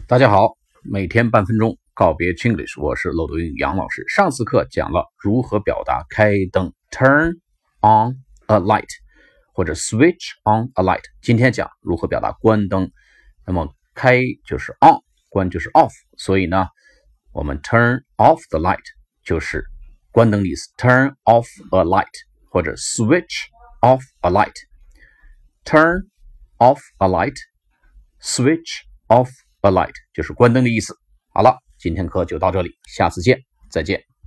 大家好，每天半分钟告别 Chinglish， 我是漏斗英语杨老师。上次课讲了如何表达开灯 turn on a light 或者 switch on a light， 今天讲如何表达关灯。那么开就是 on， 关就是 off， 所以呢我们 turn off the light 就是关灯的意思， turn off a light 或者 switch off a light， turn off a light switch off a light 就是关灯的意思。好了，今天课就到这里，下次见，再见。